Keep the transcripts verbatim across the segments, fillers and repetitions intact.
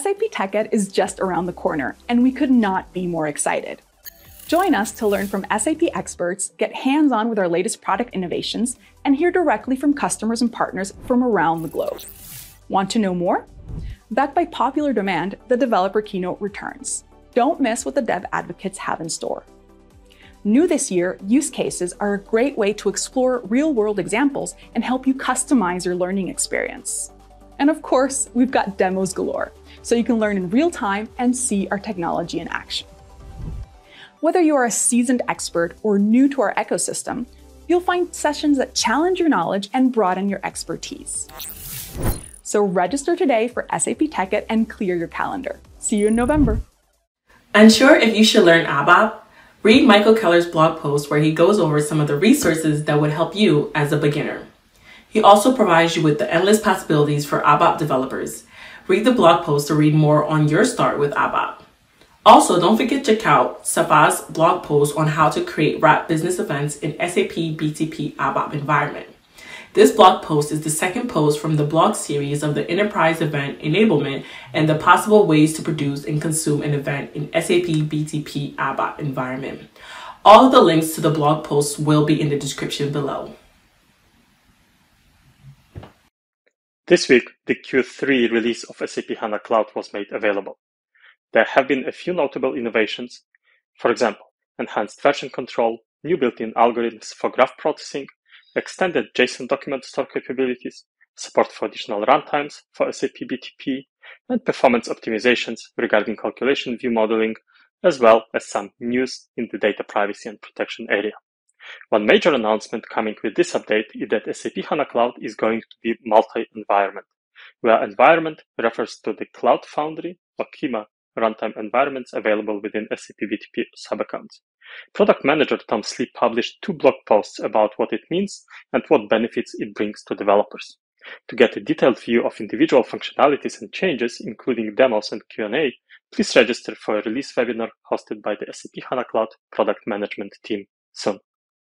S A P TechEd is just around the corner, and we could not be more excited. Join us to learn from S A P experts, get hands-on with our latest product innovations, and hear directly from customers and partners from around the globe. Want to know more? Backed by popular demand, the developer keynote returns. Don't miss what the dev advocates have in store. New this year, use cases are a great way to explore real-world examples and help you customize your learning experience. And of course, we've got demos galore, so you can learn in real time and see our technology in action. Whether you are a seasoned expert or new to our ecosystem, you'll find sessions that challenge your knowledge and broaden your expertise. So register today for S A P TechEd and clear your calendar. See you in November. Unsure if you should learn ABAP? Read Michael Keller's blog post where he goes over some of the resources that would help you as a beginner. He also provides you with the endless possibilities for ABAP developers. Read the blog post to read more on your start with ABAP. Also, don't forget to check out Safa's blog post on how to create wrap business events in S A P B T P ABAP environment. This blog post is the second post from the blog series of the Enterprise Event Enablement and the possible ways to produce and consume an event in S A P B T P ABAP environment. All of the links to the blog posts will be in the description below. This week, the Q three release of S A P HANA Cloud was made available. There have been a few notable innovations. For example, enhanced version control, new built-in algorithms for graph processing, extended JSON document store capabilities, support for additional runtimes for S A P B T P, and performance optimizations regarding calculation view modeling, as well as some news in the data privacy and protection area. One major announcement coming with this update is that S A P HANA Cloud is going to be multi-environment, where environment refers to the Cloud Foundry or Kyma runtime environments available within S A P B T P subaccounts. Product manager Tom Sleep published two blog posts about what it means and what benefits it brings to developers. To get a detailed view of individual functionalities and changes, including demos and Q and A, please register for a release webinar hosted by the S A P HANA Cloud product management team soon.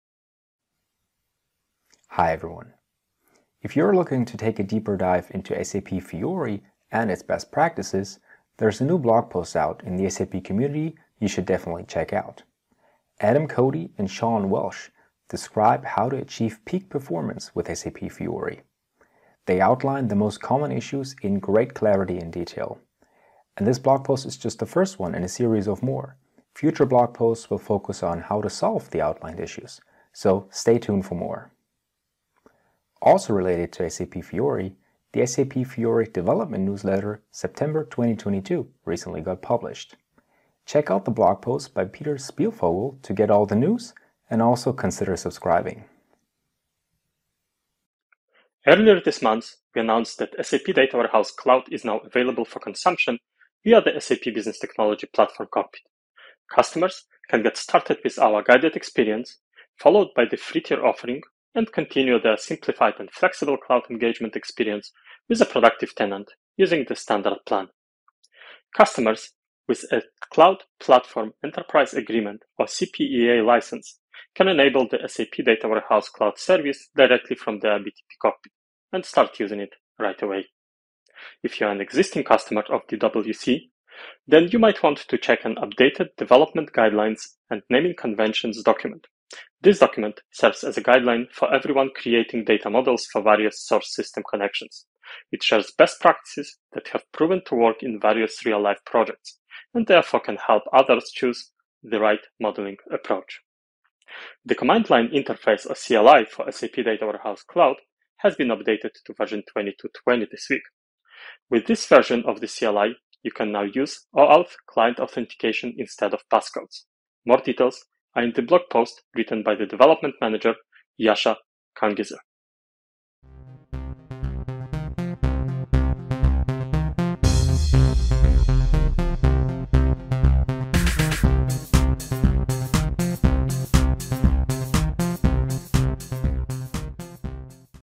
Hi everyone. If you're looking to take a deeper dive into S A P Fiori and its best practices, there's a new blog post out in the S A P community you should definitely check out. Adam Cody and Sean Welsh describe how to achieve peak performance with S A P Fiori. They outline the most common issues in great clarity and detail. And this blog post is just the first one in a series of more. Future blog posts will focus on how to solve the outlined issues, so stay tuned for more. Also related to S A P Fiori, the S A P Fiori development newsletter September twenty twenty-two recently got published. Check out the blog post by Peter Spielvogel to get all the news and also consider subscribing. Earlier this month, we announced that S A P Data Warehouse Cloud is now available for consumption via the S A P Business Technology Platform Cockpit. Customers can get started with our guided experience, followed by the free tier offering, and continue their simplified and flexible cloud engagement experience with a productive tenant using the standard plan. Customers with a Cloud Platform Enterprise Agreement or C P E A license can enable the S A P Data Warehouse Cloud service directly from their B T P cockpit and start using it right away. If you're an existing customer of the W C, then you might want to check an updated development guidelines and naming conventions document. This document serves as a guideline for everyone creating data models for various source system connections. It shares best practices that have proven to work in various real-life projects, and therefore can help others choose the right modeling approach. The command line interface or C L I for S A P Data Warehouse Cloud has been updated to version twenty-two twenty this week. With this version of the C L I, you can now use OAuth client authentication instead of passcodes. More details are in the blog post written by the development manager, Yasha Kangizer.